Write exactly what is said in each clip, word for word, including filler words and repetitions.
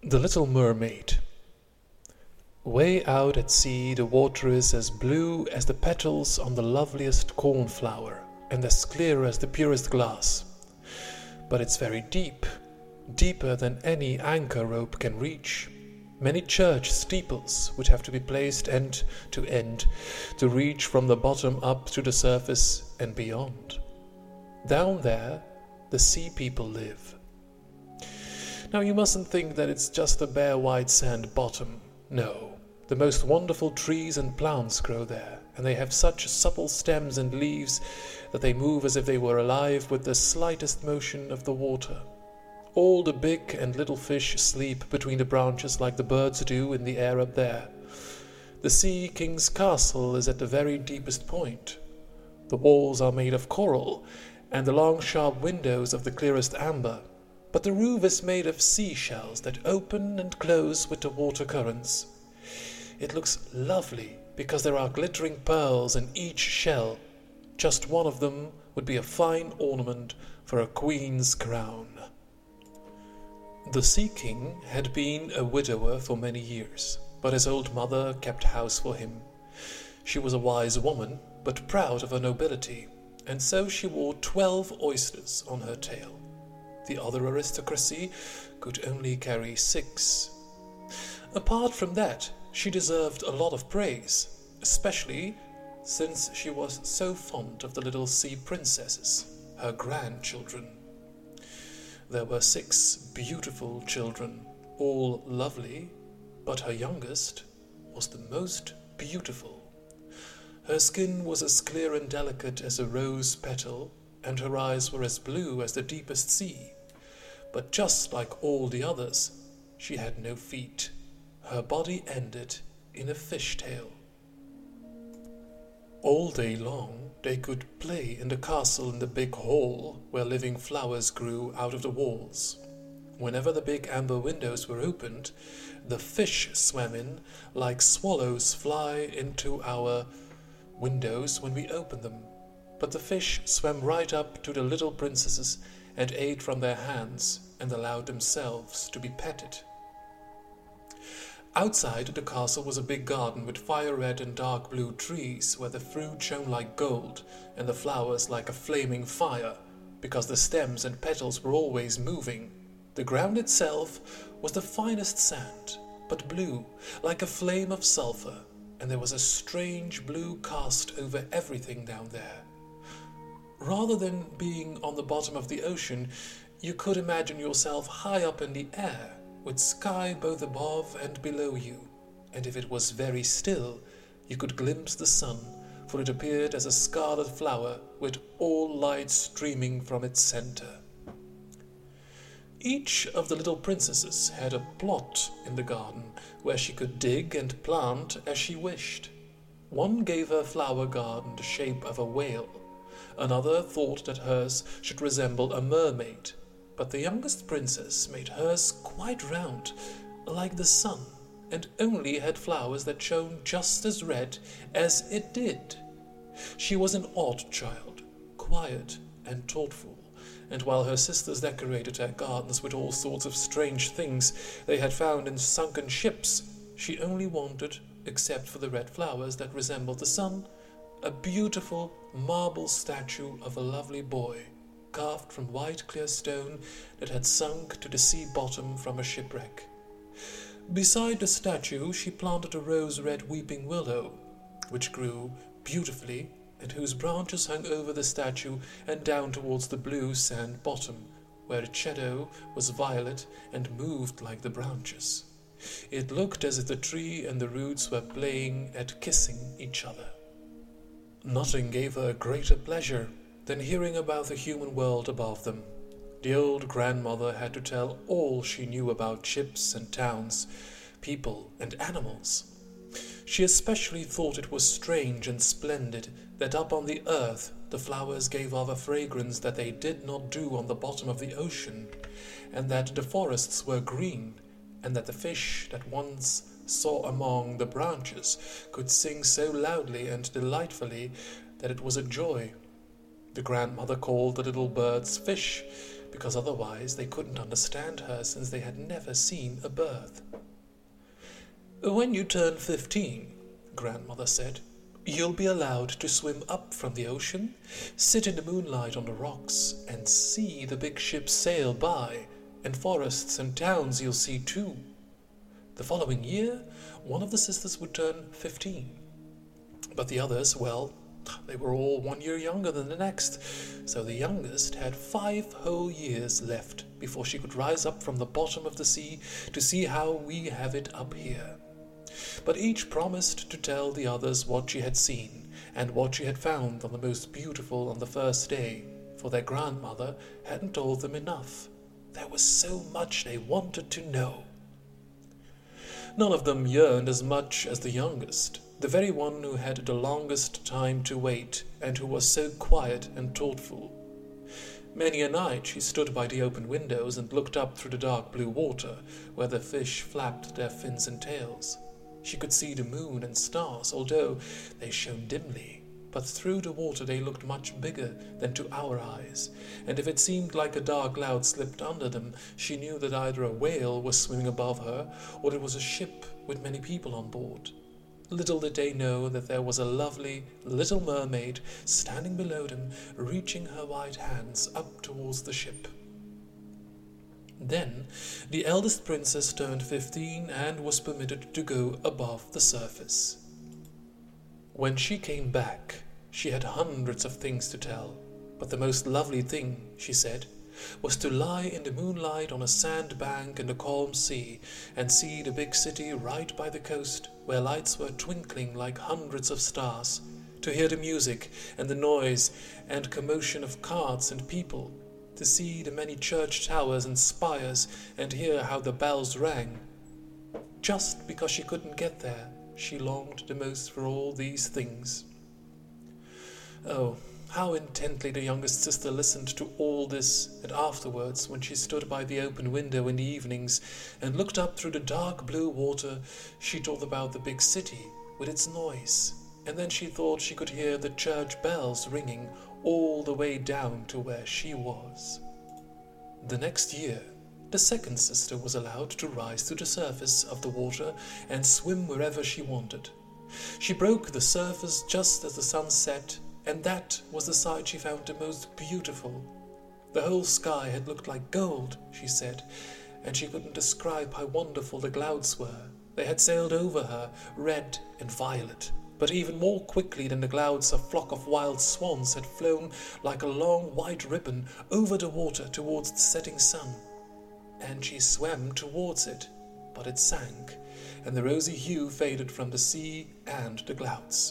The Little Mermaid. Way out at sea the water is as blue as the petals on the loveliest cornflower, and as clear as the purest glass. But it's very deep, deeper than any anchor rope can reach. Many church steeples would have to be placed end to end to reach from the bottom up to the surface and beyond. Down there, the sea people live. Now you mustn't think that it's just a bare white sand bottom. No, the most wonderful trees and plants grow there, and they have such supple stems and leaves that they move as if they were alive with the slightest motion of the water. All the big and little fish sleep between the branches like the birds do in the air up there. The Sea King's castle is at the very deepest point. The walls are made of coral, and the long sharp windows of the clearest amber. But the roof is made of seashells that open and close with the water currents. It looks lovely because there are glittering pearls in each shell. Just one of them would be a fine ornament for a queen's crown. The Sea King had been a widower for many years, but his old mother kept house for him. She was a wise woman, but proud of her nobility, and so she wore twelve oysters on her tail. The other aristocracy could only carry six. Apart from that, she deserved a lot of praise, especially since she was so fond of the little sea princesses, her grandchildren. There were six beautiful children, all lovely, but her youngest was the most beautiful. Her skin was as clear and delicate as a rose petal, and her eyes were as blue as the deepest sea. But just like all the others, she had no feet. Her body ended in a fishtail. All day long they could play in the castle in the big hall where living flowers grew out of the walls. Whenever the big amber windows were opened, the fish swam in like swallows fly into our windows when we open them. But the fish swam right up to the little princesses and ate from their hands and allowed themselves to be petted. Outside the castle was a big garden with fire-red and dark blue trees where the fruit shone like gold and the flowers like a flaming fire, because the stems and petals were always moving. The ground itself was the finest sand, but blue, like a flame of sulphur, and there was a strange blue cast over everything down there. Rather than being on the bottom of the ocean, you could imagine yourself high up in the air, with sky both above and below you, and if it was very still, you could glimpse the sun, for it appeared as a scarlet flower with all light streaming from its centre. Each of the little princesses had a plot in the garden where she could dig and plant as she wished. One gave her flower garden the shape of a whale. Another thought that hers should resemble a mermaid, but the youngest princess made hers quite round, like the sun, and only had flowers that shone just as red as it did. She was an odd child, quiet and thoughtful, and while her sisters decorated their gardens with all sorts of strange things they had found in sunken ships, she only wanted, except for the red flowers that resembled the sun, a beautiful marble statue of a lovely boy, carved from white clear stone that had sunk to the sea bottom from a shipwreck. Beside the statue she planted a rose-red weeping willow, which grew beautifully and whose branches hung over the statue and down towards the blue sand bottom, where its shadow was violet and moved like the branches. It looked as if the tree and the roots were playing at kissing each other. Nothing gave her greater pleasure than hearing about the human world above them. The old grandmother had to tell all she knew about ships and towns, people and animals. She especially thought it was strange and splendid that up on the earth the flowers gave off a fragrance that they did not do on the bottom of the ocean, and that the forests were green, and that the fish that once saw among the branches could sing so loudly and delightfully that it was a joy. The grandmother called the little birds fish, because otherwise they couldn't understand her since they had never seen a birth. "When you turn fifteen," Grandmother said, "you'll be allowed to swim up from the ocean, sit in the moonlight on the rocks, and see the big ships sail by, and forests and towns you'll see too." The following year, one of the sisters would turn fifteen. But the others, well, they were all one year younger than the next, so the youngest had five whole years left before she could rise up from the bottom of the sea to see how we have it up here. But each promised to tell the others what she had seen and what she had found on the most beautiful on the first day, for their grandmother hadn't told them enough. There was so much they wanted to know. None of them yearned as much as the youngest, the very one who had the longest time to wait and who was so quiet and thoughtful. Many a night she stood by the open windows and looked up through the dark blue water, where the fish flapped their fins and tails. She could see the moon and stars, although they shone dimly, but through the water they looked much bigger than to our eyes, and if it seemed like a dark cloud slipped under them, she knew that either a whale was swimming above her, or it was a ship with many people on board. Little did they know that there was a lovely little mermaid standing below them, reaching her white hands up towards the ship. Then the eldest princess turned fifteen and was permitted to go above the surface. When she came back, she had hundreds of things to tell, but the most lovely thing, she said, was to lie in the moonlight on a sand bank in the calm sea and see the big city right by the coast, where lights were twinkling like hundreds of stars, to hear the music and the noise and commotion of carts and people, to see the many church towers and spires and hear how the bells rang. Just because she couldn't get there, she longed the most for all these things. Oh, how intently the youngest sister listened to all this, and afterwards, when she stood by the open window in the evenings and looked up through the dark blue water, she thought about the big city with its noise, and then she thought she could hear the church bells ringing all the way down to where she was. The next year, the second sister was allowed to rise to the surface of the water and swim wherever she wanted. She broke the surface just as the sun set, and that was the sight she found the most beautiful. The whole sky had looked like gold, she said, and she couldn't describe how wonderful the clouds were. They had sailed over her, red and violet, but even more quickly than the clouds a flock of wild swans had flown like a long white ribbon over the water towards the setting sun. And she swam towards it, but it sank, and the rosy hue faded from the sea and the clouds.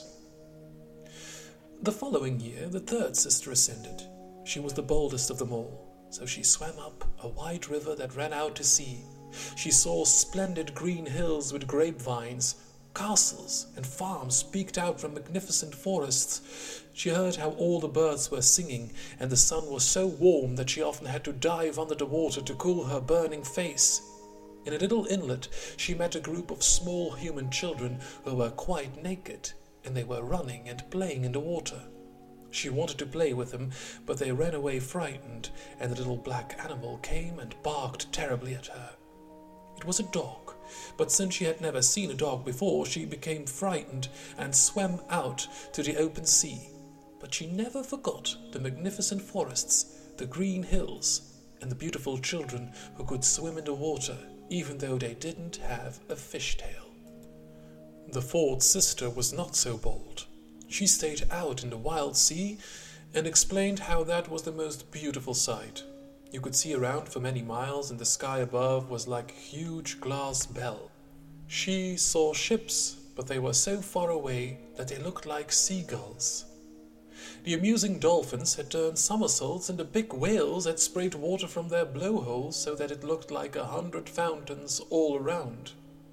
The following year, the third sister ascended. She was the boldest of them all, so she swam up a wide river that ran out to sea. She saw splendid green hills with grapevines, castles and farms peeked out from magnificent forests. She heard how all the birds were singing, and the sun was so warm that she often had to dive under the water to cool her burning face. In a little inlet, she met a group of small human children who were quite naked, and they were running and playing in the water. She wanted to play with them, but they ran away frightened, and the little black animal came and barked terribly at her. It was a dog, but since she had never seen a dog before, she became frightened and swam out to the open sea. But she never forgot the magnificent forests, the green hills, and the beautiful children who could swim in the water, even though they didn't have a fishtail. The fourth sister was not so bold. She stayed out in the wild sea and explained how that was the most beautiful sight. You could see around for many miles, and the sky above was like a huge glass bell. She saw ships, but they were so far away that they looked like seagulls. The amusing dolphins had turned somersaults, and the big whales had sprayed water from their blowholes so that it looked like a hundred fountains all around.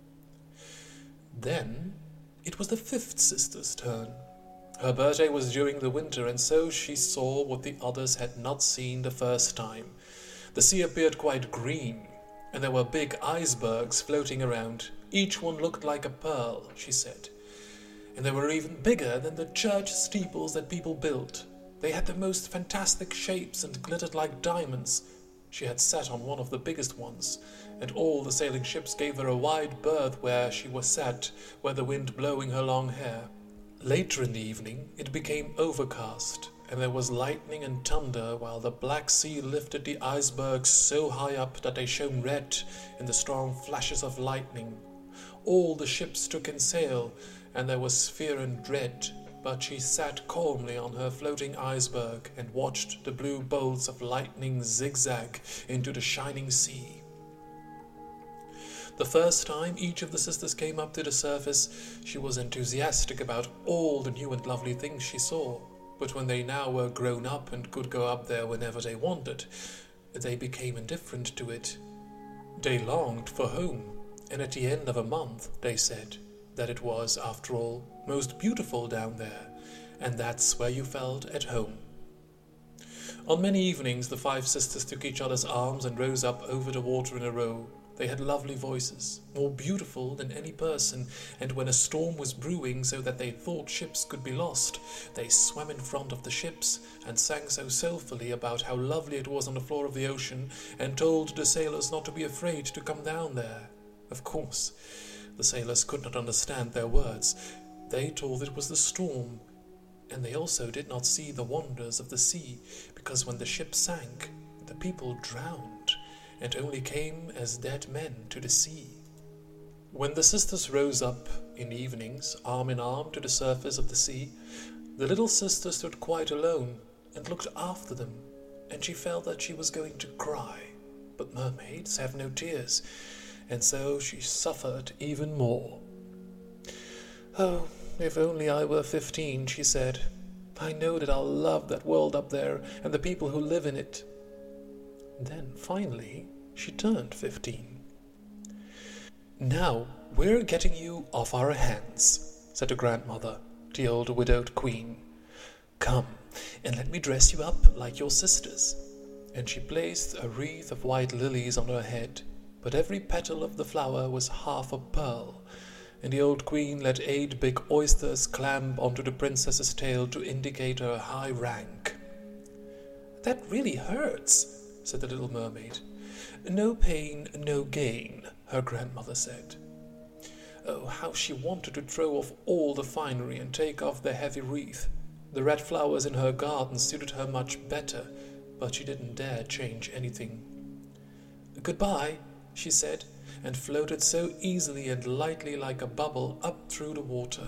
Then it was the fifth sister's turn. Her birthday was during the winter, and so she saw what the others had not seen the first time. The sea appeared quite green, and there were big icebergs floating around. Each one looked like a pearl, she said. And they were even bigger than the church steeples that people built. They had the most fantastic shapes and glittered like diamonds. She had sat on one of the biggest ones, and all the sailing ships gave her a wide berth where she was sat, where the wind blowing her long hair. Later in the evening it became overcast, and there was lightning and thunder, while the black sea lifted the icebergs so high up that they shone red in the strong flashes of lightning. All the ships took in sail, and there was fear and dread, but she sat calmly on her floating iceberg and watched the blue bolts of lightning zigzag into the shining sea. The first time each of the sisters came up to the surface, she was enthusiastic about all the new and lovely things she saw, but when they now were grown up and could go up there whenever they wanted, they became indifferent to it. They longed for home, and at the end of a month they said that it was, after all, most beautiful down there, and that's where you felt at home. On many evenings the five sisters took each other's arms and rose up over the water in a row. They had lovely voices, more beautiful than any person, and when a storm was brewing so that they thought ships could be lost, they swam in front of the ships and sang so soulfully about how lovely it was on the floor of the ocean, and told the sailors not to be afraid to come down there. Of course, the sailors could not understand their words. They thought it was the storm, and they also did not see the wonders of the sea, because when the ship sank, the people drowned, and only came as dead men to the sea. When the sisters rose up in the evenings, arm in arm to the surface of the sea, the little sister stood quite alone and looked after them, and she felt that she was going to cry. But mermaids have no tears, and so she suffered even more. "Oh, if only I were fifteen," she said. "I know that I'll love that world up there and the people who live in it." Then, finally, she turned fifteen. "Now we're getting you off our hands," said the grandmother, the old widowed queen. "Come, and let me dress you up like your sisters." And she placed a wreath of white lilies on her head, but every petal of the flower was half a pearl, and the old queen let eight big oysters clamp onto the princess's tail to indicate her high rank. "That really hurts," said the little mermaid. "No pain, no gain," her grandmother said. Oh, how she wanted to throw off all the finery and take off the heavy wreath. The red flowers in her garden suited her much better, but she didn't dare change anything. "Goodbye," she said, and floated so easily and lightly like a bubble up through the water.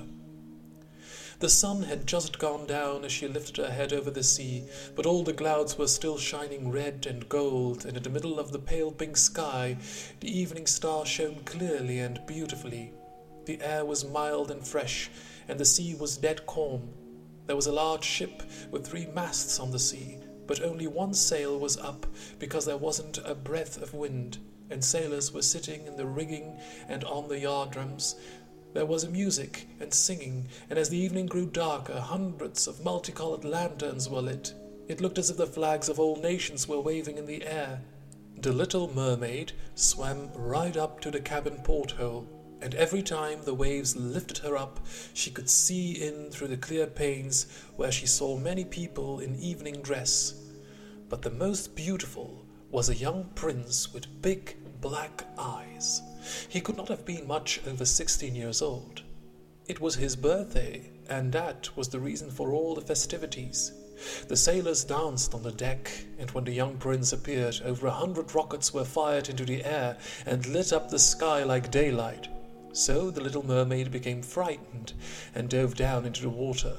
The sun had just gone down as she lifted her head over the sea, but all the clouds were still shining red and gold, and in the middle of the pale pink sky the evening star shone clearly and beautifully. The air was mild and fresh, and the sea was dead calm. There was a large ship with three masts on the sea, but only one sail was up because there wasn't a breath of wind, and sailors were sitting in the rigging and on the yard-drums. There was music and singing, and as the evening grew darker, hundreds of multicolored lanterns were lit. It looked as if the flags of all nations were waving in the air. The little mermaid swam right up to the cabin porthole, and every time the waves lifted her up, she could see in through the clear panes, where she saw many people in evening dress. But the most beautiful was a young prince with big black eyes. He could not have been much over sixteen years old. It was his birthday, and that was the reason for all the festivities. The sailors danced on the deck, and when the young prince appeared, over a hundred rockets were fired into the air and lit up the sky like daylight. So the little mermaid became frightened and dove down into the water.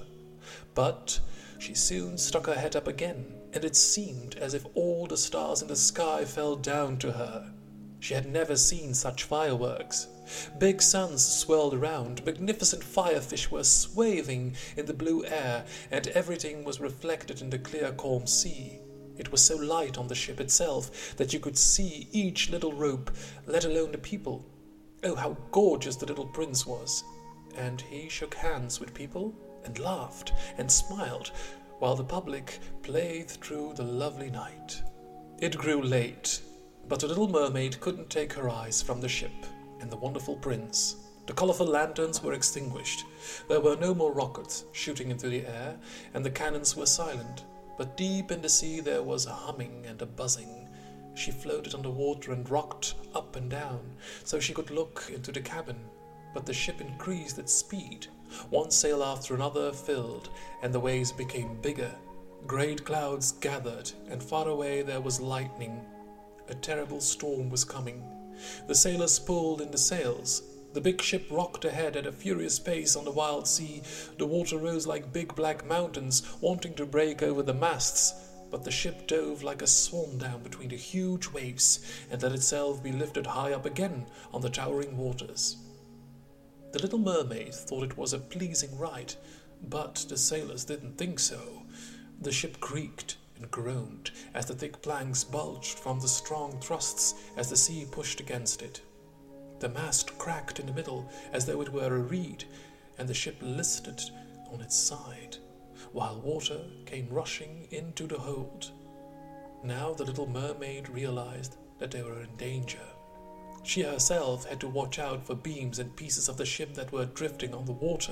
But she soon stuck her head up again, and it seemed as if all the stars in the sky fell down to her. She had never seen such fireworks. Big suns swirled around, magnificent firefish were waving in the blue air, and everything was reflected in the clear, calm sea. It was so light on the ship itself that you could see each little rope, let alone the people. Oh, how gorgeous the little prince was! And he shook hands with people, and laughed, and smiled, while the public played through the lovely night. It grew late, but the little mermaid couldn't take her eyes from the ship and the wonderful prince. The colorful lanterns were extinguished. There were no more rockets shooting into the air, and the cannons were silent. But deep in the sea there was a humming and a buzzing, She floated underwater and rocked up and down, so she could look into the cabin. But the ship increased its speed. One sail after another filled, and the waves became bigger. Great clouds gathered, and far away there was lightning. A terrible storm was coming. The sailors pulled in the sails. The big ship rocked ahead at a furious pace on the wild sea. The water rose like big black mountains, wanting to break over the masts. But the ship dove like a swan down between the huge waves and let itself be lifted high up again on the towering waters. The little mermaid thought it was a pleasing ride, but the sailors didn't think so. The ship creaked and groaned as the thick planks bulged from the strong thrusts as the sea pushed against it. The mast cracked in the middle as though it were a reed, and the ship listed on its side, while water came rushing into the hold. Now the little mermaid realized that they were in danger. She herself had to watch out for beams and pieces of the ship that were drifting on the water.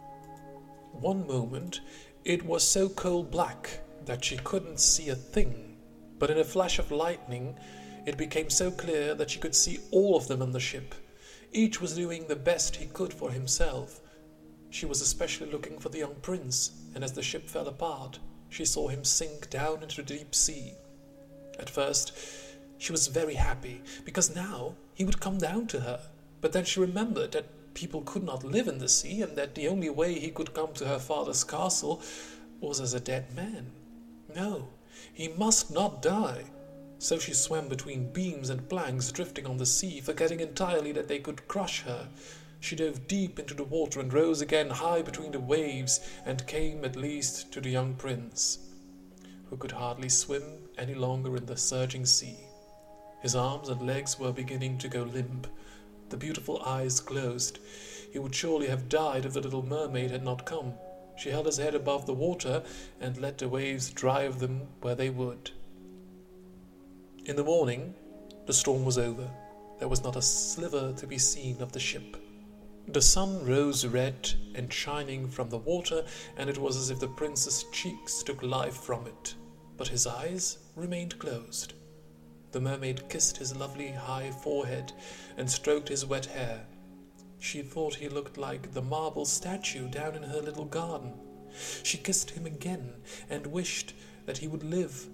One moment it was so coal black that she couldn't see a thing, but in a flash of lightning it became so clear that she could see all of them on the ship. Each was doing the best he could for himself. She was especially looking for the young prince, and as the ship fell apart, she saw him sink down into the deep sea. At first, she was very happy, because now he would come down to her. But then she remembered that people could not live in the sea, and that the only way he could come to her father's castle was as a dead man. No, he must not die. So she swam between beams and planks drifting on the sea, forgetting entirely that they could crush her. She dove deep into the water and rose again high between the waves, and came at least to the young prince, who could hardly swim any longer in the surging sea. His arms and legs were beginning to go limp. The beautiful eyes closed. He would surely have died if the little mermaid had not come. She held his head above the water and let the waves drive them where they would. In the morning, the storm was over. There was not a sliver to be seen of the ship. The sun rose red and shining from the water, and it was as if the prince's cheeks took life from it. But his eyes remained closed. The mermaid kissed his lovely high forehead and stroked his wet hair. She thought he looked like the marble statue down in her little garden. She kissed him again and wished that he would live.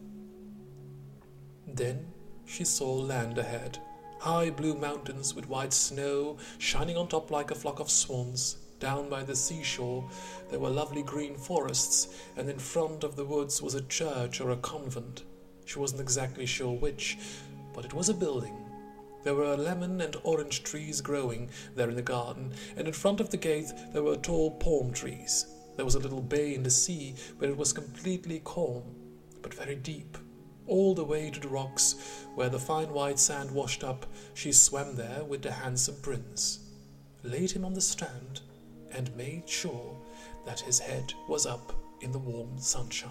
Then she saw land ahead. High blue mountains with white snow shining on top like a flock of swans. Down by the seashore there were lovely green forests, and in front of the woods was a church or a convent. She wasn't exactly sure which, but it was a building. There were lemon and orange trees growing there in the garden, and in front of the gate there were tall palm trees. There was a little bay in the sea where it was completely calm, but very deep. All the way to the rocks, where the fine white sand washed up, she swam there with the handsome prince, laid him on the strand, and made sure that his head was up in the warm sunshine.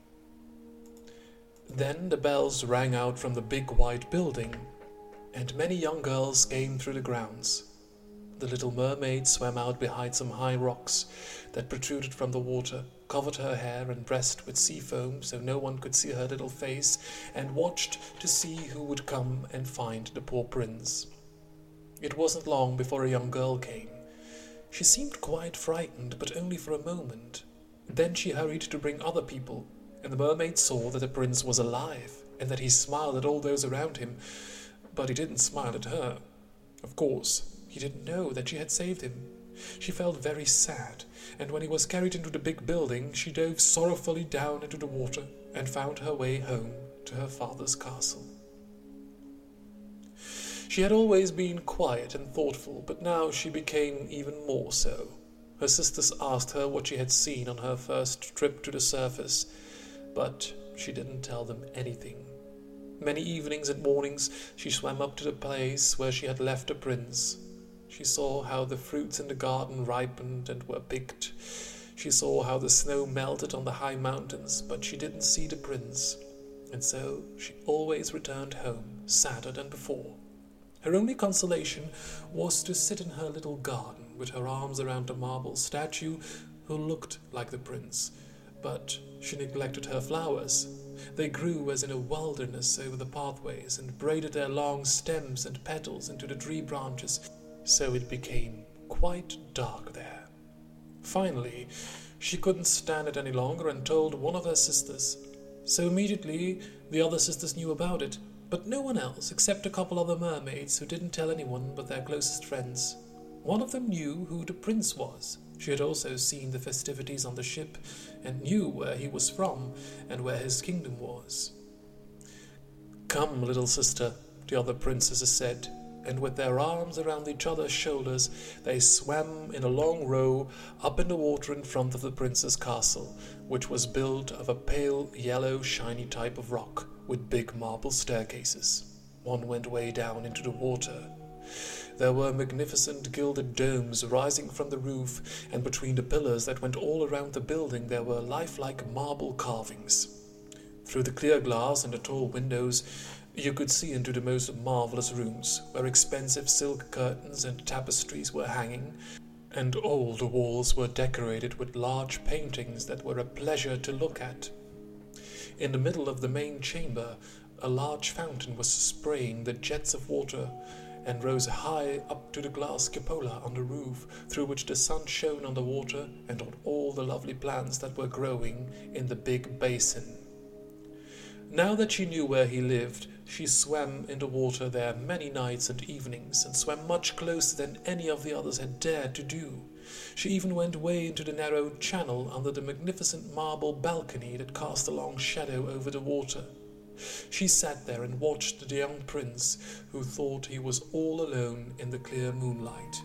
Then the bells rang out from the big white building, and many young girls came through the grounds. The little mermaid swam out behind some high rocks that protruded from the water, covered her hair and breast with sea foam so no one could see her little face, and watched to see who would come and find the poor prince. It wasn't long before a young girl came. She seemed quite frightened, but only for a moment. Then she hurried to bring other people, and the mermaid saw that the prince was alive, and that he smiled at all those around him, but he didn't smile at her. Of course, he didn't know that she had saved him. She felt very sad, and when he was carried into the big building, she dove sorrowfully down into the water and found her way home to her father's castle. She had always been quiet and thoughtful, but now she became even more so. Her sisters asked her what she had seen on her first trip to the surface, but she didn't tell them anything. Many evenings and mornings she swam up to the place where she had left the prince. She saw how the fruits in the garden ripened and were picked. She saw how the snow melted on the high mountains, but she didn't see the prince, and so she always returned home sadder than before. Her only consolation was to sit in her little garden with her arms around the marble statue who looked like the prince, But she neglected her flowers. They grew as in a wilderness over the pathways and braided their long stems and petals into the tree branches, so it became quite dark there. Finally, she couldn't stand it any longer and told one of her sisters. So immediately the other sisters knew about it, but no one else except a couple other mermaids who didn't tell anyone but their closest friends. One of them knew who the prince was. She had also seen the festivities on the ship and knew where he was from and where his kingdom was. "Come, little sister," the other princesses said, and with their arms around each other's shoulders they swam in a long row up in the water in front of the prince's castle, which was built of a pale yellow shiny type of rock with big marble staircases. One went way down into the water. There were magnificent gilded domes rising from the roof, and between the pillars that went all around the building there were lifelike marble carvings. Through the clear glass and the tall windows you could see into the most marvelous rooms, where expensive silk curtains and tapestries were hanging, and all the walls were decorated with large paintings that were a pleasure to look at. In the middle of the main chamber a large fountain was spraying the jets of water, and rose high up to the glass cupola on the roof, through which the sun shone on the water and on all the lovely plants that were growing in the big basin. Now that she knew where he lived, she swam in the water there many nights and evenings, and swam much closer than any of the others had dared to do. She even went way into the narrow channel under the magnificent marble balcony that cast a long shadow over the water. She sat there and watched the young prince, who thought he was all alone in the clear moonlight.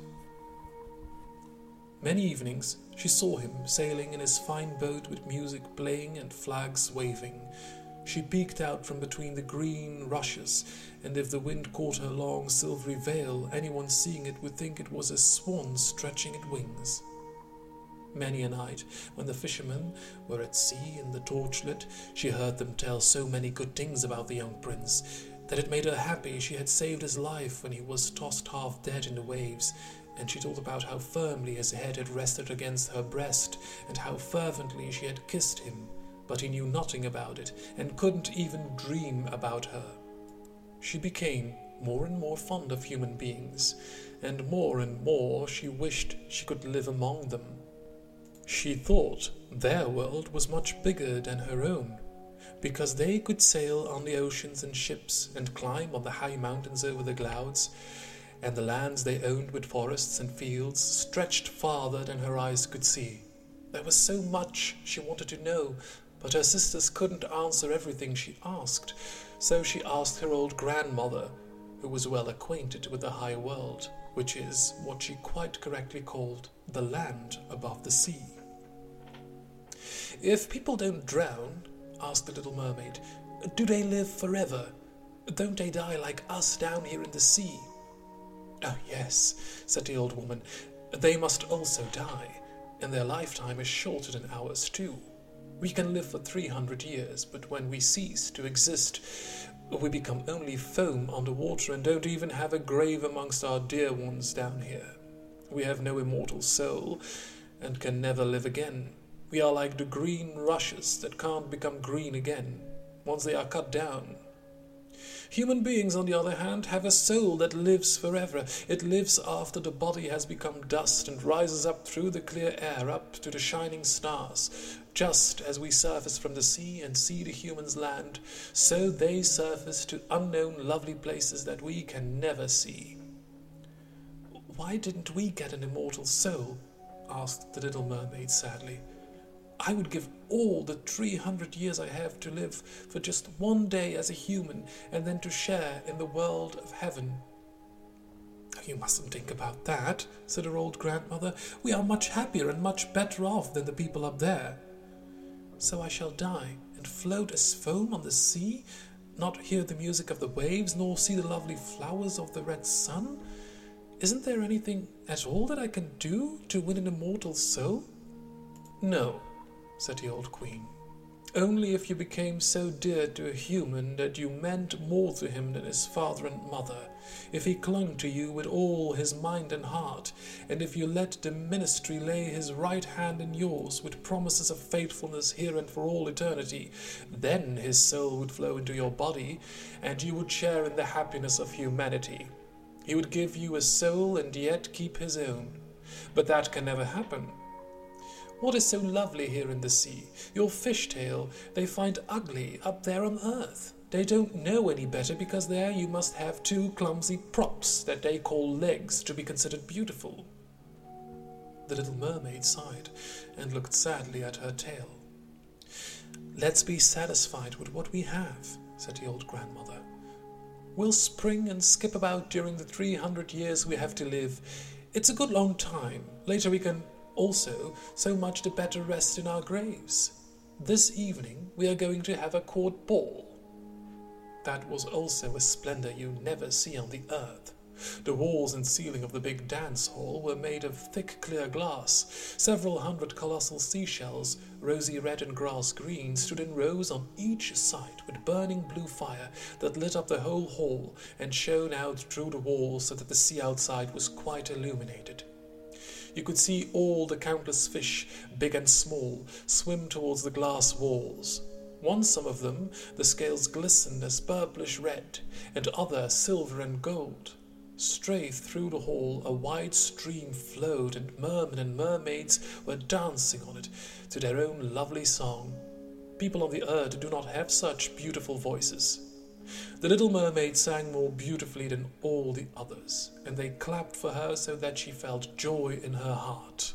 Many evenings she saw him sailing in his fine boat with music playing and flags waving. She peeked out from between the green rushes, and if the wind caught her long silvery veil, anyone seeing it would think it was a swan stretching its wings. Many a night, when the fishermen were at sea and the torch lit, she heard them tell so many good things about the young prince that it made her happy she had saved his life when he was tossed half dead in the waves, and she told about how firmly his head had rested against her breast and how fervently she had kissed him, but he knew nothing about it and couldn't even dream about her. She became more and more fond of human beings, and more and more she wished she could live among them. She thought their world was much bigger than her own, because they could sail on the oceans in ships and climb on the high mountains over the clouds, and the lands they owned with forests and fields stretched farther than her eyes could see. There was so much she wanted to know, but her sisters couldn't answer everything she asked, so she asked her old grandmother, who was well acquainted with the high world, which is what she quite correctly called the land above the sea. "If people don't drown," asked the little mermaid, "do they live forever? Don't they die like us down here in the sea?" "Oh yes," said the old woman, "they must also die, and their lifetime is shorter than ours too. We can live for three hundred years, but when we cease to exist, we become only foam on the water and don't even have a grave amongst our dear ones down here. We have no immortal soul and can never live again. We are like the green rushes that can't become green again once they are cut down. Human beings, on the other hand, have a soul that lives forever. It lives after the body has become dust and rises up through the clear air up to the shining stars. Just as we surface from the sea and see the humans land, so they surface to unknown lovely places that we can never see." "Why didn't we get an immortal soul?" asked the little mermaid sadly. "I would give all the three hundred years I have to live for just one day as a human, and then to share in the world of heaven." "You mustn't think about that," said her old grandmother. "We are much happier and much better off than the people up there." "So I shall die and float as foam on the sea, not hear the music of the waves, nor see the lovely flowers of the red sun? Isn't there anything at all that I can do to win an immortal soul?" "No," said the old queen. Only if you became so dear to a human that you meant more to him than his father and mother, if he clung to you with all his mind and heart, and if you let the ministry lay his right hand in yours with promises of faithfulness here and for all eternity, then his soul would flow into your body, and you would share in the happiness of humanity. He would give you a soul and yet keep his own. But that can never happen. What is so lovely here in the sea? Your fishtail they find ugly up there on earth. They don't know any better because there you must have two clumsy props that they call legs to be considered beautiful. The little mermaid sighed and looked sadly at her tail. Let's be satisfied with what we have, said the old grandmother. We'll spring and skip about during the three hundred years we have to live. It's a good long time. Later we can also so much the better rest in our graves. This evening we are going to have a court ball. That was also a splendour you never see on the earth. The walls and ceiling of the big dance hall were made of thick clear glass. Several hundred colossal seashells, rosy red and grass green, stood in rows on each side with burning blue fire that lit up the whole hall and shone out through the walls so that the sea outside was quite illuminated. You could see all the countless fish, big and small, swim towards the glass walls. Once some of them, the scales glistened as purplish red, and other silver and gold. Straight through the hall a wide stream flowed, and mermen and mermaids were dancing on it to their own lovely song. People on the earth do not have such beautiful voices. The little mermaid sang more beautifully than all the others, and they clapped for her so that she felt joy in her heart.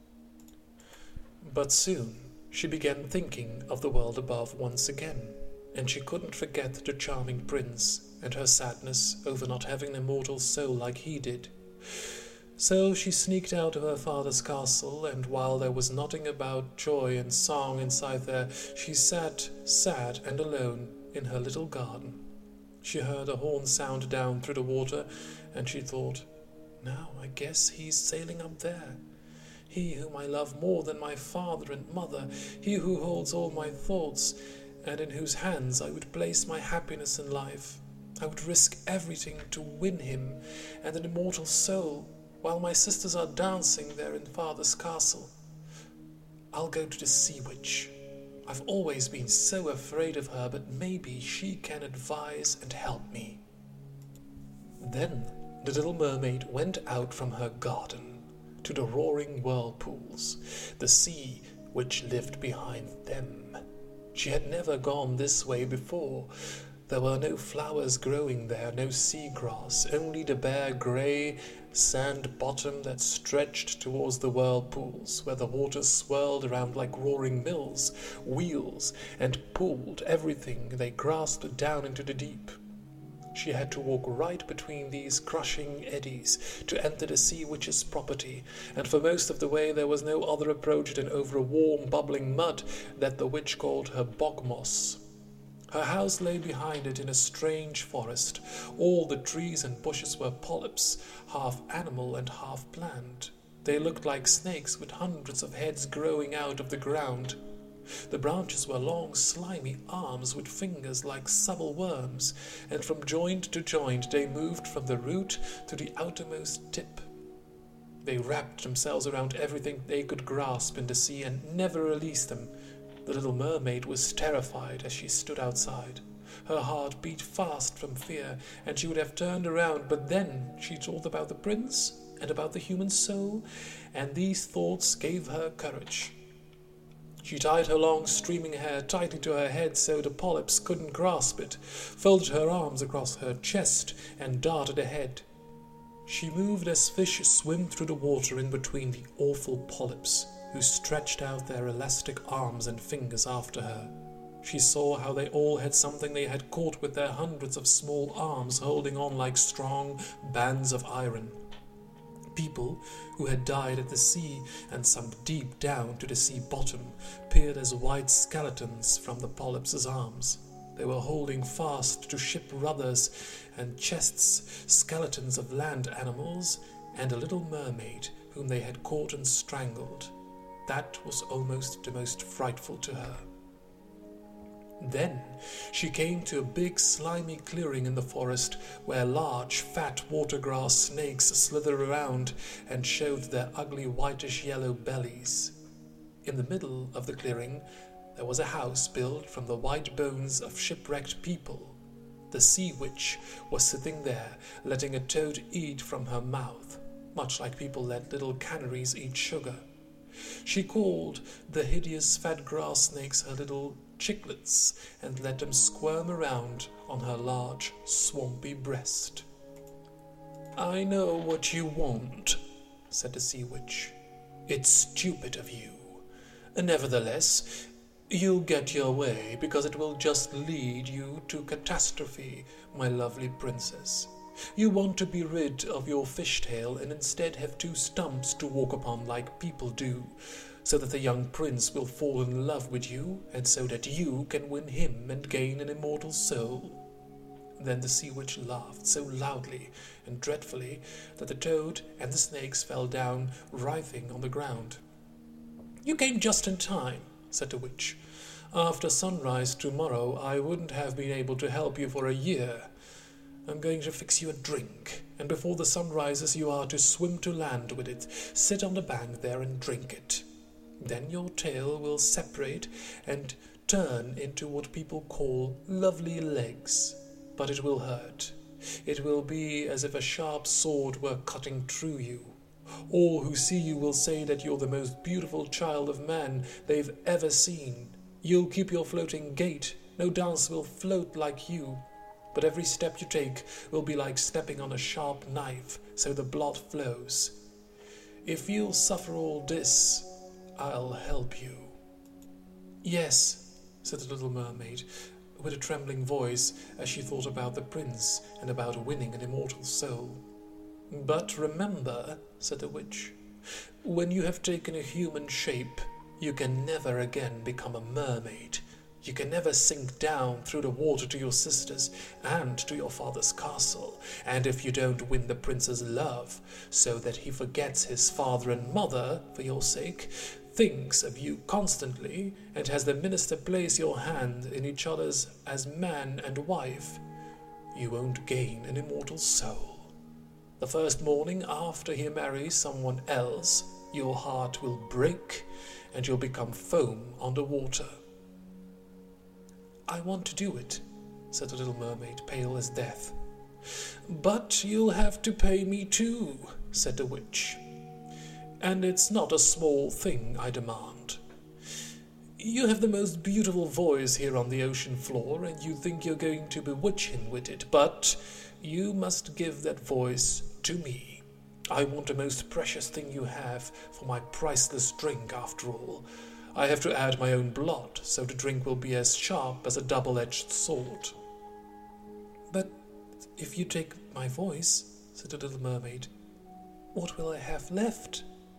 But soon she began thinking of the world above once again, and she couldn't forget the charming prince and her sadness over not having an immortal soul like he did. So she sneaked out of her father's castle, and while there was nothing about joy and song inside there, she sat sad and alone in her little garden. She heard a horn sound down through the water, and she thought, now I guess he's sailing up there. He whom I love more than my father and mother, he who holds all my thoughts, and in whose hands I would place my happiness in life. I would risk everything to win him and an immortal soul, while my sisters are dancing there in father's castle. I'll go to the sea witch. I've always been so afraid of her, but maybe she can advise and help me. Then the little mermaid went out from her garden to the roaring whirlpools, the sea which lived behind them. She had never gone this way before. There were no flowers growing there, no sea grass, only the bare grey sand bottom that stretched towards the whirlpools, where the water swirled around like roaring mills, wheels, and pulled everything they grasped down into the deep. She had to walk right between these crushing eddies to enter the sea witch's property, and for most of the way there was no other approach than over a warm, bubbling mud that the witch called her bog moss. Her house lay behind it in a strange forest. All the trees and bushes were polyps, half animal and half plant. They looked like snakes with hundreds of heads growing out of the ground. The branches were long, slimy arms with fingers like supple worms, and from joint to joint they moved from the root to the outermost tip. They wrapped themselves around everything they could grasp in the sea and never released them. The little mermaid was terrified as she stood outside. Her heart beat fast from fear, and she would have turned around, but then she thought about the prince and about the human soul, and these thoughts gave her courage. She tied her long streaming hair tightly to her head so the polyps couldn't grasp it, folded her arms across her chest, and darted ahead. She moved as fish swim through the water in between the awful polyps, who stretched out their elastic arms and fingers after her. She saw how they all had something they had caught with their hundreds of small arms holding on like strong bands of iron. People who had died at the sea and sunk deep down to the sea bottom peered as white skeletons from the polyps' arms. They were holding fast to ship rudders and chests, skeletons of land animals, and a little mermaid whom they had caught and strangled. That was almost the most frightful to her. Then she came to a big slimy clearing in the forest where large fat watergrass snakes slithered around and showed their ugly whitish-yellow bellies. In the middle of the clearing there was a house built from the white bones of shipwrecked people. The sea witch was sitting there, letting a toad eat from her mouth, much like people let little canaries eat sugar. She called the hideous fat grass snakes her little chicklets and let them squirm around on her large, swampy breast. "I know what you want," said the sea witch. "It's stupid of you. Nevertheless, you'll get your way, because it will just lead you to catastrophe, my lovely princess. You want to be rid of your fishtail and instead have two stumps to walk upon like people do, so that the young prince will fall in love with you, and so that you can win him and gain an immortal soul." Then the sea witch laughed so loudly and dreadfully that the toad and the snakes fell down, writhing on the ground. "You came just in time," said the witch. "After sunrise tomorrow I wouldn't have been able to help you for a year. I'm going to fix you a drink, and before the sun rises you are to swim to land with it. Sit on the bank there and drink it. Then your tail will separate and turn into what people call lovely legs, but it will hurt. It will be as if a sharp sword were cutting through you. All who see you will say that you're the most beautiful child of man they've ever seen. You'll keep your floating gait. No dance will float like you. But every step you take will be like stepping on a sharp knife, so the blood flows. If you'll suffer all this, I'll help you." "Yes," said the little mermaid, with a trembling voice, as she thought about the prince and about winning an immortal soul. "But remember," said the witch, "when you have taken a human shape, you can never again become a mermaid. You can never sink down through the water to your sisters and to your father's castle, and if you don't win the prince's love, so that he forgets his father and mother for your sake, thinks of you constantly, and has the minister place your hand in each other's as man and wife, you won't gain an immortal soul. The first morning after he marries someone else, your heart will break, and you'll become foam on the water." "I want to do it," said the little mermaid, pale as death. "But you'll have to pay me too," said the witch. "And it's not a small thing I demand. You have the most beautiful voice here on the ocean floor, and you think you're going to bewitch him with it, but you must give that voice to me. I want the most precious thing you have for my priceless drink, after all. I have to add my own blood, so the drink will be as sharp as a double-edged sword." "But if you take my voice," said the little mermaid, "what will I have left?"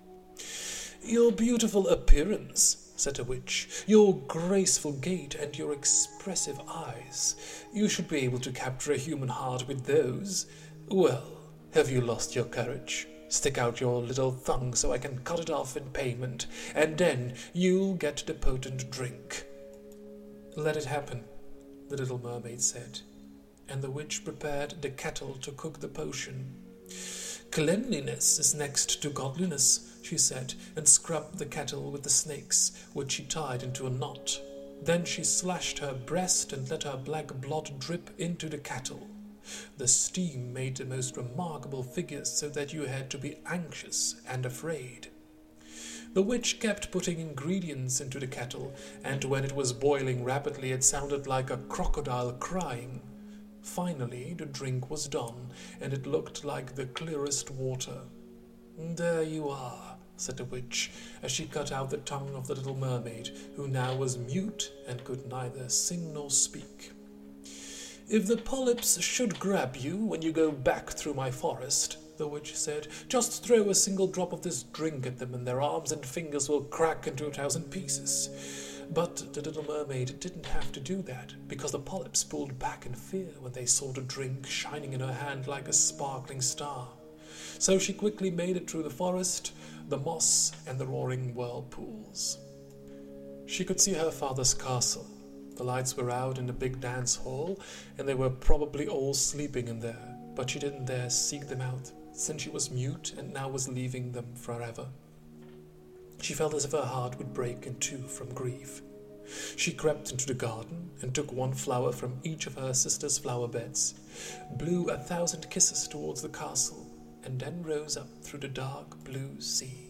"Your beautiful appearance," said the witch, "your graceful gait and your expressive eyes. You should be able to capture a human heart with those. Well, have you lost your courage? Stick out your little tongue so I can cut it off in payment, and then you'll get the potent drink." "Let it happen," the little mermaid said, and the witch prepared the kettle to cook the potion. "Cleanliness is next to godliness," she said, and scrubbed the kettle with the snakes, which she tied into a knot. Then she slashed her breast and let her black blood drip into the kettle. The steam made the most remarkable figures, so that you had to be anxious and afraid. The witch kept putting ingredients into the kettle, and when it was boiling rapidly it sounded like a crocodile crying. Finally the drink was done, and it looked like the clearest water. "There you are," said the witch, as she cut out the tongue of the little mermaid, who now was mute and could neither sing nor speak. "If the polyps should grab you when you go back through my forest," the witch said, "just throw a single drop of this drink at them, and their arms and fingers will crack into a thousand pieces." But the little mermaid didn't have to do that, because the polyps pulled back in fear when they saw the drink shining in her hand like a sparkling star. So she quickly made it through the forest, the moss, and the roaring whirlpools. She could see her father's castle. The lights were out in the big dance hall, and they were probably all sleeping in there, but she didn't dare seek them out, since she was mute and now was leaving them forever. She felt as if her heart would break in two from grief. She crept into the garden and took one flower from each of her sister's flower beds, blew a thousand kisses towards the castle, and then rose up through the dark blue sea.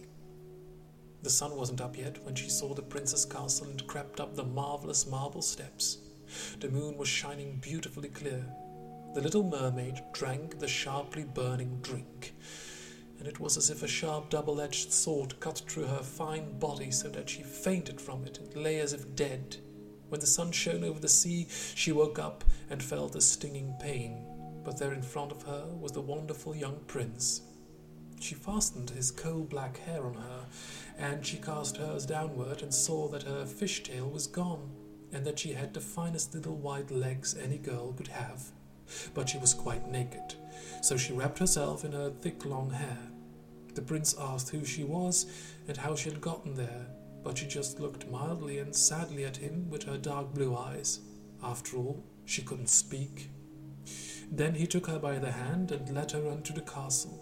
The sun wasn't up yet when she saw the prince's castle and crept up the marvelous marble steps. The moon was shining beautifully clear. The little mermaid drank the sharply burning drink, and it was as if a sharp double-edged sword cut through her fine body so that she fainted from it and lay as if dead. When the sun shone over the sea, she woke up and felt a stinging pain, but there in front of her was the wonderful young prince. She fastened his coal-black hair on her, and she cast hers downward and saw that her fishtail was gone, and that she had the finest little white legs any girl could have. But she was quite naked, so she wrapped herself in her thick long hair. The prince asked who she was and how she had gotten there, but she just looked mildly and sadly at him with her dark blue eyes. After all, she couldn't speak. Then he took her by the hand and led her unto the castle.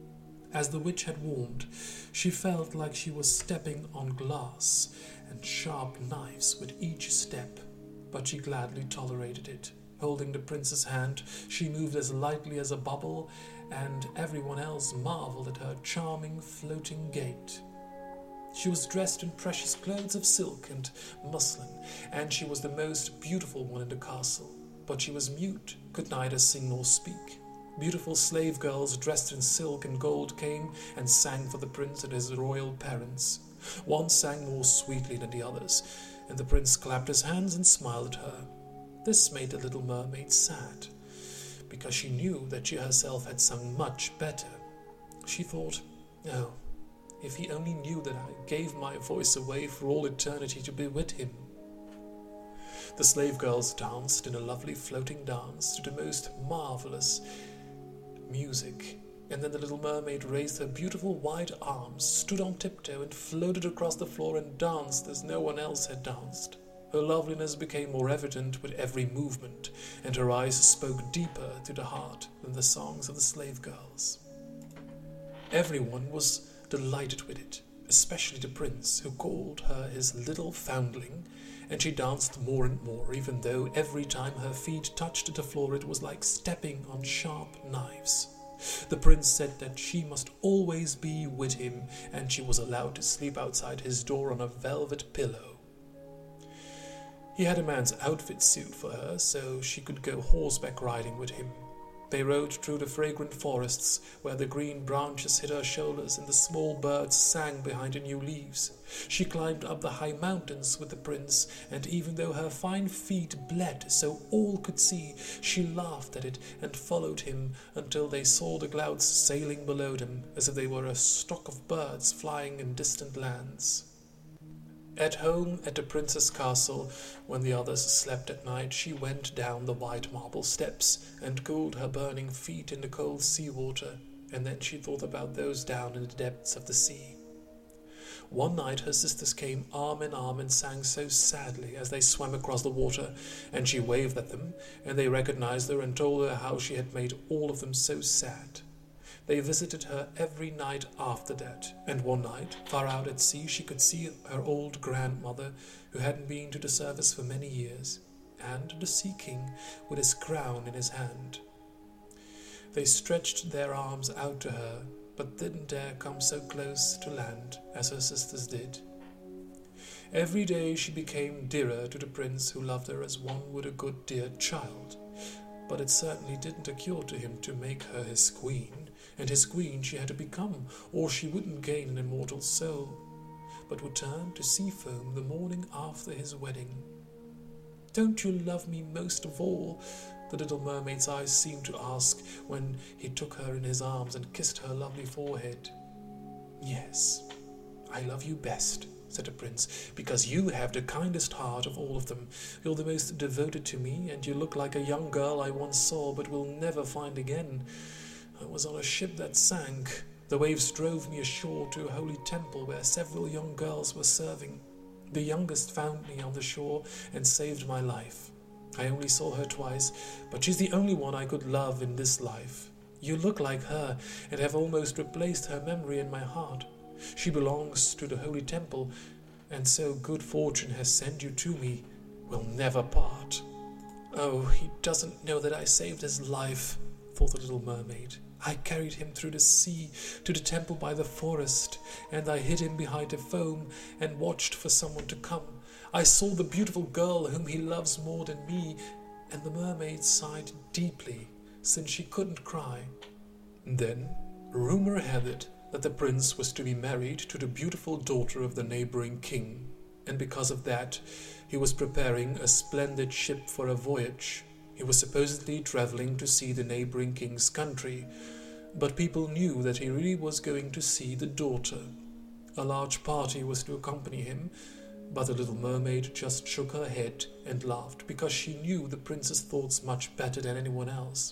As the witch had warned, she felt like she was stepping on glass and sharp knives with each step, but she gladly tolerated it. Holding the prince's hand, she moved as lightly as a bubble, and everyone else marveled at her charming floating gait. She was dressed in precious clothes of silk and muslin, and she was the most beautiful one in the castle, but she was mute, could neither sing nor speak. Beautiful slave girls dressed in silk and gold came and sang for the prince and his royal parents. One sang more sweetly than the others, and the prince clapped his hands and smiled at her. This made the little mermaid sad, because she knew that she herself had sung much better. She thought, oh, if he only knew that I gave my voice away for all eternity to be with him. The slave girls danced in a lovely floating dance to the most marvelous music, and then the little mermaid raised her beautiful white arms, stood on tiptoe, and floated across the floor and danced as no one else had danced. Her loveliness became more evident with every movement, and her eyes spoke deeper to the heart than the songs of the slave girls. Everyone was delighted with it, especially the prince, who called her his little foundling, and she danced more and more, even though every time her feet touched the floor it was like stepping on sharp knives. The prince said that she must always be with him, and she was allowed to sleep outside his door on a velvet pillow. He had a man's outfit suit for her, so she could go horseback riding with him. They rode through the fragrant forests, where the green branches hid her shoulders and the small birds sang behind the new leaves. She climbed up the high mountains with the prince, and even though her fine feet bled so all could see, she laughed at it and followed him until they saw the clouds sailing below them, as if they were a stock of birds flying in distant lands. At home at the prince's castle, when the others slept at night, she went down the white marble steps and cooled her burning feet in the cold sea water, and then she thought about those down in the depths of the sea. One night her sisters came arm in arm and sang so sadly as they swam across the water, and she waved at them, and they recognized her and told her how she had made all of them so sad. They visited her every night after that, and one night, far out at sea, she could see her old grandmother, who hadn't been to the service for many years, and the Sea King with his crown in his hand. They stretched their arms out to her, but didn't dare come so close to land as her sisters did. Every day she became dearer to the prince, who loved her as one would a good dear child, but it certainly didn't occur to him to make her his queen, and his queen she had to become, or she wouldn't gain an immortal soul, but would turn to sea foam the morning after his wedding. "Don't you love me most of all?" the little mermaid's eyes seemed to ask when he took her in his arms and kissed her lovely forehead. "Yes, I love you best," said the prince, "because you have the kindest heart of all of them. You're the most devoted to me, and you look like a young girl I once saw but will never find again. I was on a ship that sank. The waves drove me ashore to a holy temple where several young girls were serving. The youngest found me on the shore and saved my life. I only saw her twice, but she's the only one I could love in this life. You look like her and have almost replaced her memory in my heart. She belongs to the holy temple, and so good fortune has sent you to me. We'll never part." "Oh, he doesn't know that I saved his life," thought the little mermaid. "I carried him through the sea to the temple by the forest, and I hid him behind the foam and watched for someone to come. I saw the beautiful girl whom he loves more than me," and the mermaid sighed deeply, since she couldn't cry. Then rumor had it that the prince was to be married to the beautiful daughter of the neighboring king, and because of that he was preparing a splendid ship for a voyage. He was supposedly traveling to see the neighboring king's country, but people knew that he really was going to see the daughter. A large party was to accompany him, but the little mermaid just shook her head and laughed, because she knew the prince's thoughts much better than anyone else.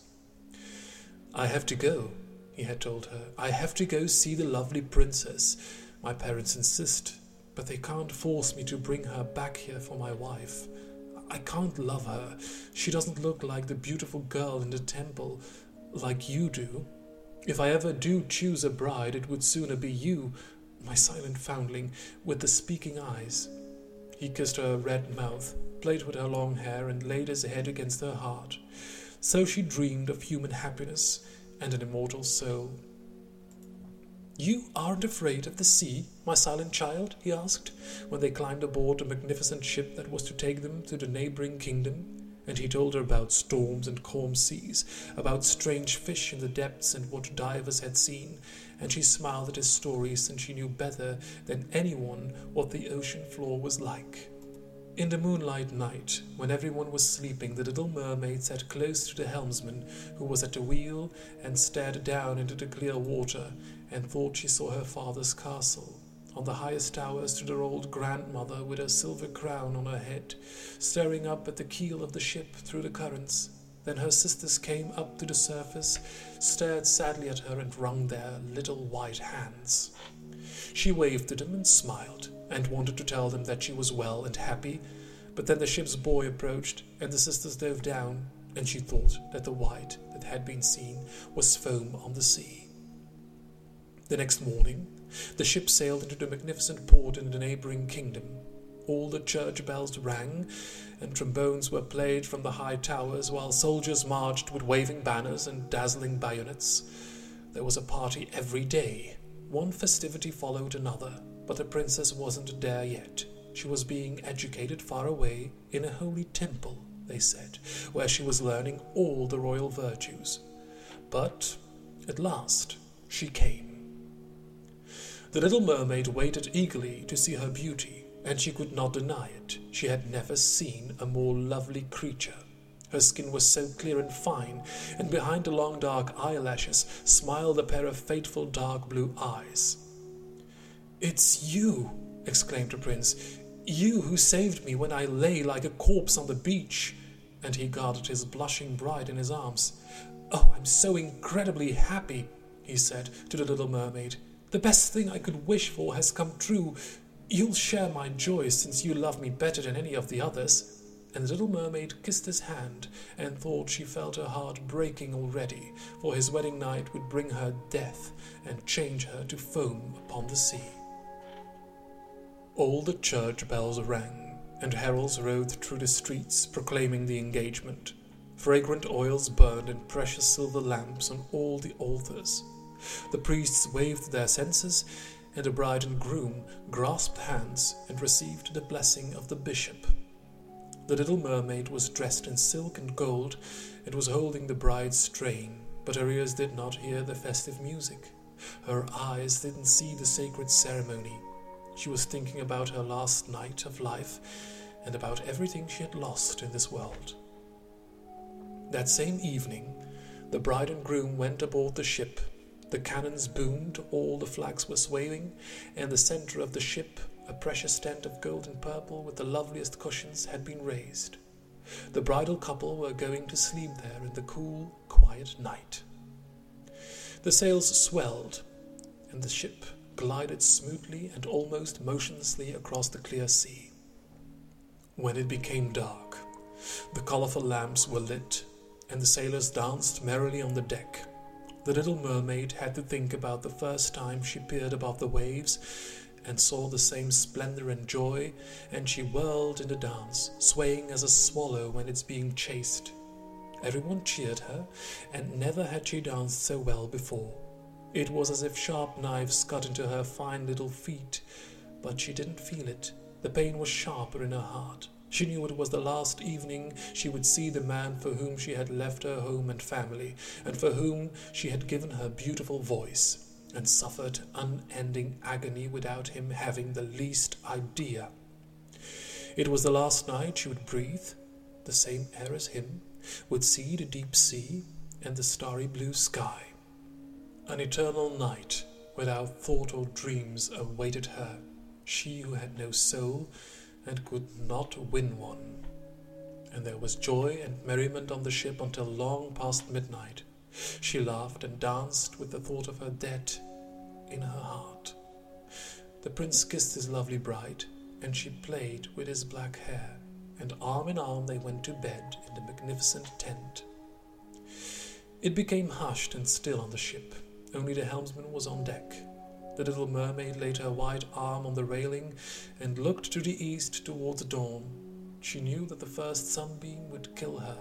"I have to go," he had told her. "I have to go see the lovely princess. My parents insist, but they can't force me to bring her back here for my wife. I can't love her. She doesn't look like the beautiful girl in the temple, like you do. If I ever do choose a bride, it would sooner be you, my silent foundling, with the speaking eyes." He kissed her red mouth, played with her long hair, and laid his head against her heart. So she dreamed of human happiness and an immortal soul. "You aren't afraid of the sea, my silent child?" he asked, when they climbed aboard a magnificent ship that was to take them to the neighboring kingdom. And he told her about storms and calm seas, about strange fish in the depths and what divers had seen, and she smiled at his stories, since she knew better than anyone what the ocean floor was like. In the moonlight night, when everyone was sleeping, the little mermaid sat close to the helmsman, who was at the wheel, and stared down into the clear water, and thought she saw her father's castle. On the highest tower stood her old grandmother with her silver crown on her head, staring up at the keel of the ship through the currents. Then her sisters came up to the surface, stared sadly at her, and wrung their little white hands. She waved to them and smiled, and wanted to tell them that she was well and happy, but then the ship's buoy approached, and the sisters dove down, and she thought that the white that had been seen was foam on the sea. The next morning, the ship sailed into the magnificent port in the neighboring kingdom. All the church bells rang, and trombones were played from the high towers, while soldiers marched with waving banners and dazzling bayonets. There was a party every day. One festivity followed another, but the princess wasn't there yet. She was being educated far away in a holy temple, they said, where she was learning all the royal virtues. But at last she came. The little mermaid waited eagerly to see her beauty, and she could not deny it. She had never seen a more lovely creature. Her skin was so clear and fine, and behind the long dark eyelashes smiled a pair of fateful dark blue eyes. "It's you!" exclaimed the prince. "You who saved me when I lay like a corpse on the beach!" And he guarded his blushing bride in his arms. "Oh, I'm so incredibly happy," he said to the little mermaid. "The best thing I could wish for has come true. You'll share my joy, since you love me better than any of the others." And the little mermaid kissed his hand, and thought she felt her heart breaking already, for his wedding night would bring her death and change her to foam upon the sea. All the church bells rang, and heralds rode through the streets proclaiming the engagement. Fragrant oils burned in precious silver lamps on all the altars. The priests waved their censers, and the bride and groom grasped hands and received the blessing of the bishop. The little mermaid was dressed in silk and gold, and was holding the bride's train, but her ears did not hear the festive music. Her eyes didn't see the sacred ceremony. She was thinking about her last night of life, and about everything she had lost in this world. That same evening, the bride and groom went aboard the ship. The cannons boomed, all the flags were swaying, and the center of the ship, a precious tent of gold and purple with the loveliest cushions, had been raised. The bridal couple were going to sleep there in the cool, quiet night. The sails swelled, and the ship glided smoothly and almost motionlessly across the clear sea. When it became dark, the colourful lamps were lit, and the sailors danced merrily on the deck. The little mermaid had to think about the first time she peered above the waves and saw the same splendour and joy, and she whirled in the dance, swaying as a swallow when it's being chased. Everyone cheered her, and never had she danced so well before. It was as if sharp knives cut into her fine little feet, but she didn't feel it. The pain was sharper in her heart. She knew it was the last evening she would see the man for whom she had left her home and family, and for whom she had given her beautiful voice, and suffered unending agony without him having the least idea. It was the last night she would breathe the same air as him, would see the deep sea and the starry blue sky. An eternal night without thought or dreams awaited her, she who had no soul and could not win one. And there was joy and merriment on the ship until long past midnight. She laughed and danced with the thought of her dead in her heart. The prince kissed his lovely bride, and she played with his black hair, and arm in arm they went to bed in the magnificent tent. It became hushed and still on the ship. Only the helmsman was on deck. The little mermaid laid her white arm on the railing and looked to the east towards dawn. She knew that the first sunbeam would kill her.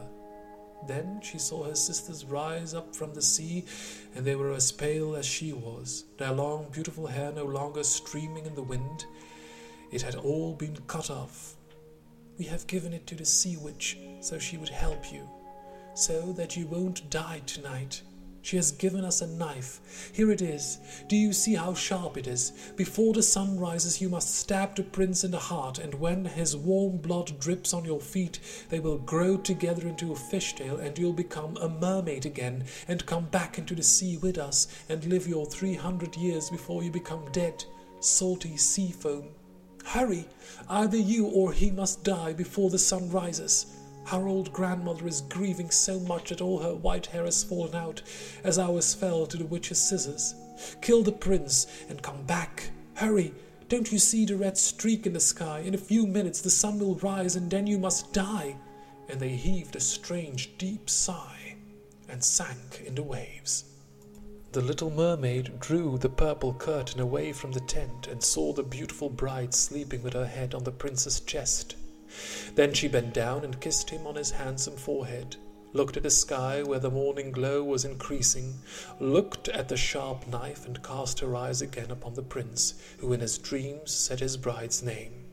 Then she saw her sisters rise up from the sea, and they were as pale as she was, their long beautiful hair no longer streaming in the wind. It had all been cut off. "We have given it to the sea witch so she would help you, so that you won't die tonight. She has given us a knife. Here it is. Do you see how sharp it is? Before the sun rises you must stab the prince in the heart, and when his warm blood drips on your feet, they will grow together into a fishtail, and you'll become a mermaid again, and come back into the sea with us, and live your three hundred years before you become dead, salty sea foam. Hurry! Either you or he must die before the sun rises. Our old grandmother is grieving so much that all her white hair has fallen out, as ours fell to the witch's scissors. Kill the prince and come back. Hurry! Don't you see the red streak in the sky? In a few minutes the sun will rise, and then you must die." And they heaved a strange deep sigh and sank in the waves. The little mermaid drew the purple curtain away from the tent and saw the beautiful bride sleeping with her head on the prince's chest. Then she bent down and kissed him on his handsome forehead, looked at the sky where the morning glow was increasing, looked at the sharp knife, and cast her eyes again upon the prince, who in his dreams said his bride's name.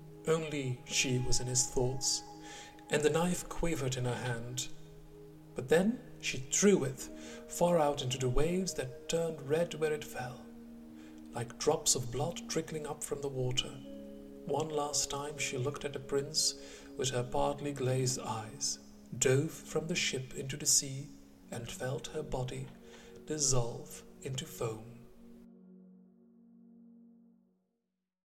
Only she was in his thoughts, and the knife quivered in her hand. But then she threw it far out into the waves that turned red where it fell, like drops of blood trickling up from the water. One last time she looked at the prince with her partly glazed eyes, dove from the ship into the sea, and felt her body dissolve into foam.